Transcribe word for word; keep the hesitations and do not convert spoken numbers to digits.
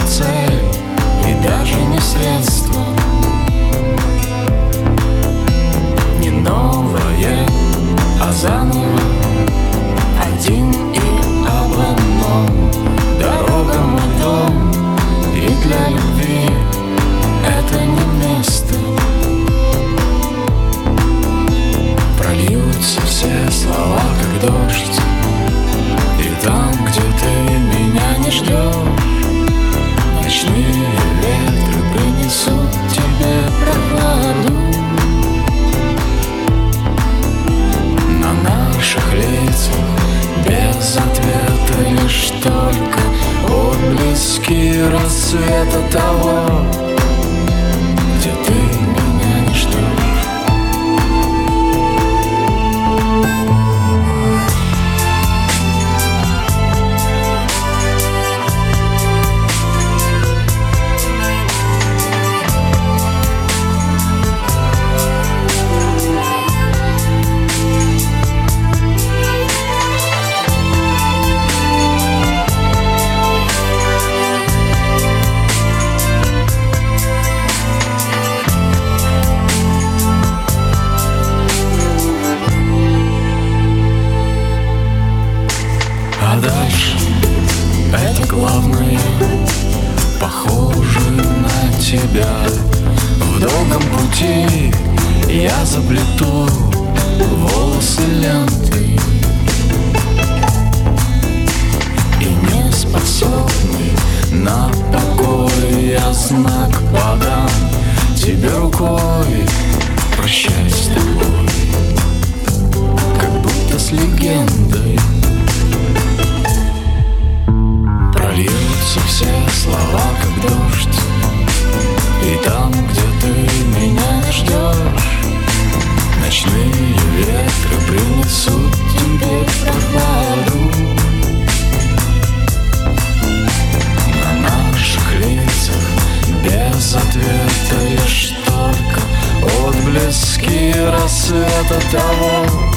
цель и даже не средство, не новое, а заново, один и об одном. Дорога мой дом, и для любви это не место. Прольются все слова, как дождь, и там, где ты меня не ждешь, ночные ветры принесут тебе прохладу. На наших лицах без ответа лишь только отблески рассвета того, где ты меня не ждешь. А дальше это главное, похоже на тебя. В долгом пути я заплету волосы лентой, и не способный на покой я знак подам тебе рукой. Прощай с тобой, как будто с легендой. Прольются все слова, как дождь, и там, где ты меня не ждешь, ночные ветры принесут тебе прохладу. На наших лицах без ответа лишь только отблески рассвета того,